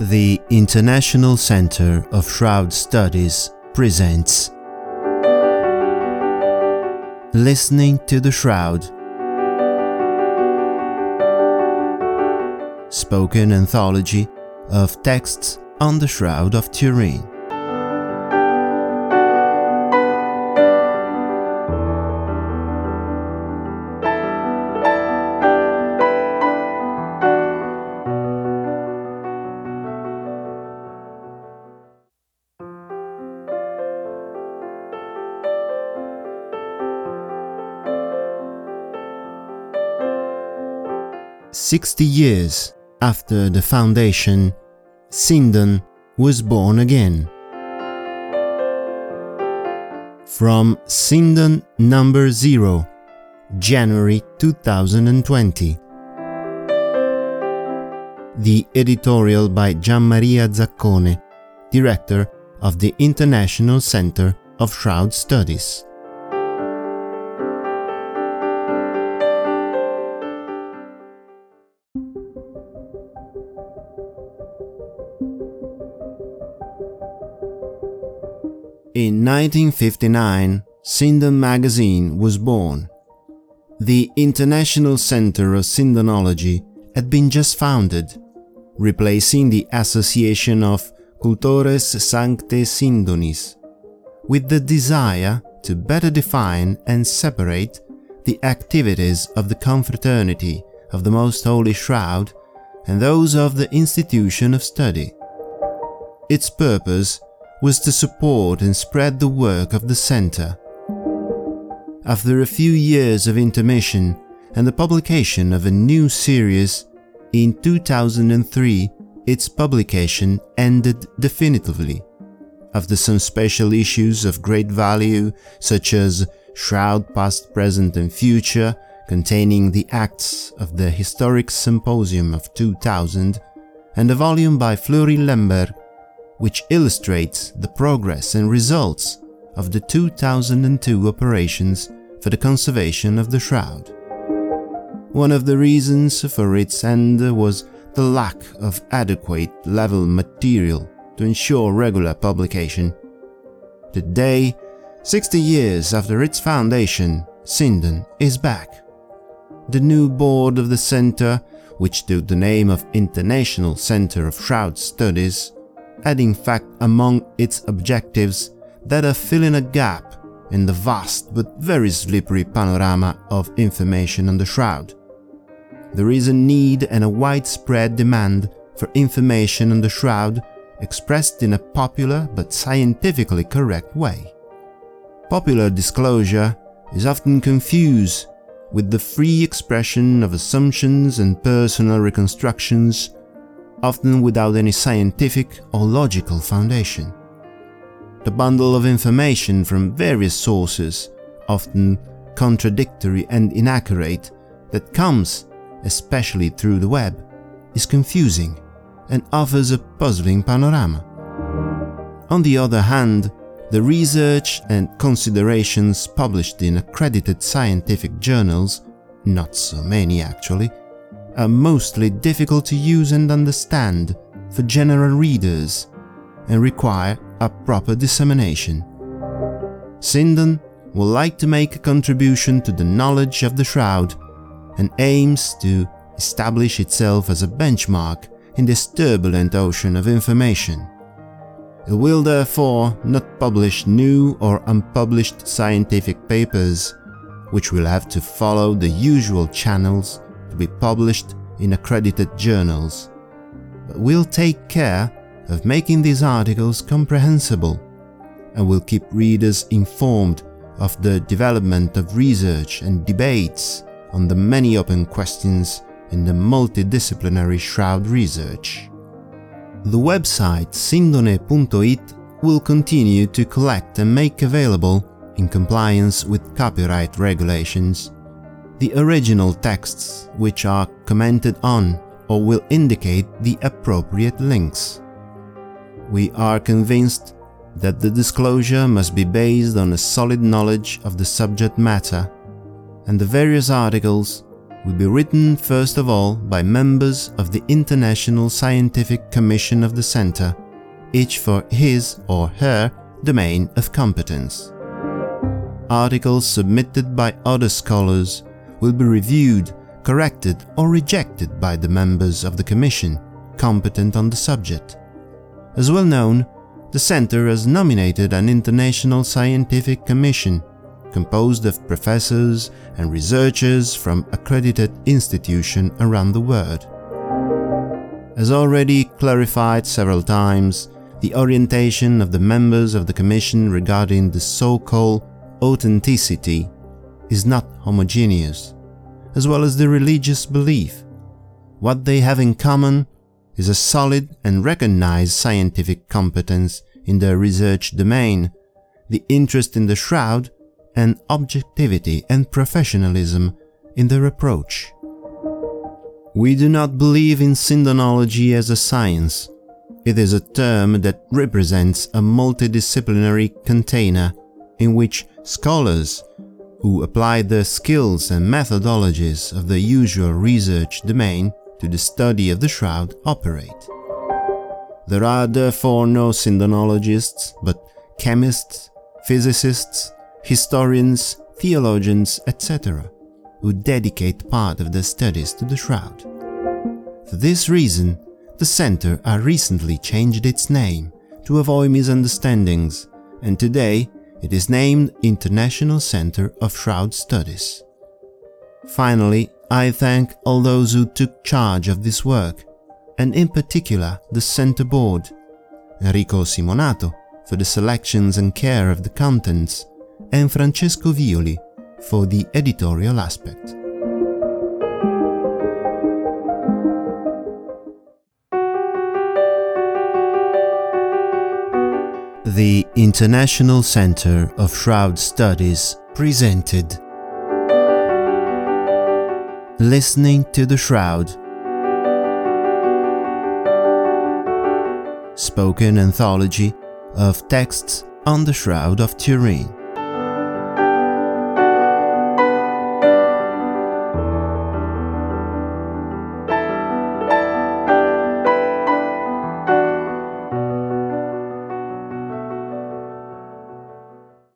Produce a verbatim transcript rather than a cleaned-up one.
The International Center of Shroud Studies presents Listening to the Shroud. Spoken anthology of texts on the Shroud of Turin. Sixty years after the foundation, Sindon was born again. From Sindon number zero, January two thousand twenty. The editorial by Gianmaria Zaccone, director of the International Center of Shroud Studies. In nineteen fifty-nine, Sindon magazine was born. The International Center of Sindonology had been just founded, replacing the Association of Cultores Sancte Sindonis, with the desire to better define and separate the activities of the Confraternity of the Most Holy Shroud and those of the Institution of Study. Its purpose was to support and spread the work of the center. After a few years of intermission and the publication of a new series, in two thousand three its publication ended definitively. After some special issues of great value, such as Shroud Past, Present and Future, containing the acts of the Historic Symposium of two thousand, and a volume by Fleury Lemberg, which illustrates the progress and results of the two thousand two operations for the conservation of the Shroud. One of the reasons for its end was the lack of adequate level material to ensure regular publication. Today, sixty years after its foundation, Sindon is back. The new board of the center, which took the name of International Center of Shroud Studies, had in fact among its objectives that of filling a gap in the vast but very slippery panorama of information on the Shroud. There is a need and a widespread demand for information on the Shroud expressed in a popular but scientifically correct way. Popular disclosure is often confused with the free expression of assumptions and personal reconstructions, often without any scientific or logical foundation. The bundle of information from various sources, often contradictory and inaccurate, that comes, especially through the web, is confusing and offers a puzzling panorama. On the other hand, the research and considerations published in accredited scientific journals, not so many actually, are mostly difficult to use and understand for general readers and require a proper dissemination. Sindon would like to make a contribution to the knowledge of the Shroud and aims to establish itself as a benchmark in this turbulent ocean of information. It will therefore not publish new or unpublished scientific papers, which will have to follow the usual channels to be published in accredited journals, but will take care of making these articles comprehensible and will keep readers informed of the development of research and debates on the many open questions in the multidisciplinary Shroud research. The website sindone punto it will continue to collect and make available, in compliance with copyright regulations, the original texts which are commented on or will indicate the appropriate links. We are convinced that the disclosure must be based on a solid knowledge of the subject matter, and the various articles will be written first of all by members of the International Scientific Commission of the Center, each for his or her domain of competence. Articles submitted by other scholars will be reviewed, corrected or rejected by the members of the Commission competent on the subject. As well known, the Center has nominated an International Scientific Commission composed of professors and researchers from accredited institutions around the world. As already clarified several times, the orientation of the members of the Commission regarding the so-called authenticity is not homogeneous, as well as the religious belief. What they have in common is a solid and recognized scientific competence in their research domain, the interest in the shroud, and objectivity and professionalism in their approach. We do not believe in syndenology as a science. It is a term that represents a multidisciplinary container in which scholars who apply their skills and methodologies of the usual research domain to the study of the shroud operate. There are therefore no syndenologists, but chemists, physicists, historians, theologians, et cetera, who dedicate part of their studies to the shroud. For this reason, the Center has recently changed its name to avoid misunderstandings, and today it is named International Center of Shroud Studies. Finally, I thank all those who took charge of this work, and in particular the Center Board, Enrico Simonato for the selections and care of the contents, and Francesco Violi for the editorial aspect. The International Center of Shroud Studies presented Listening to the Shroud, spoken anthology of texts on the Shroud of Turin.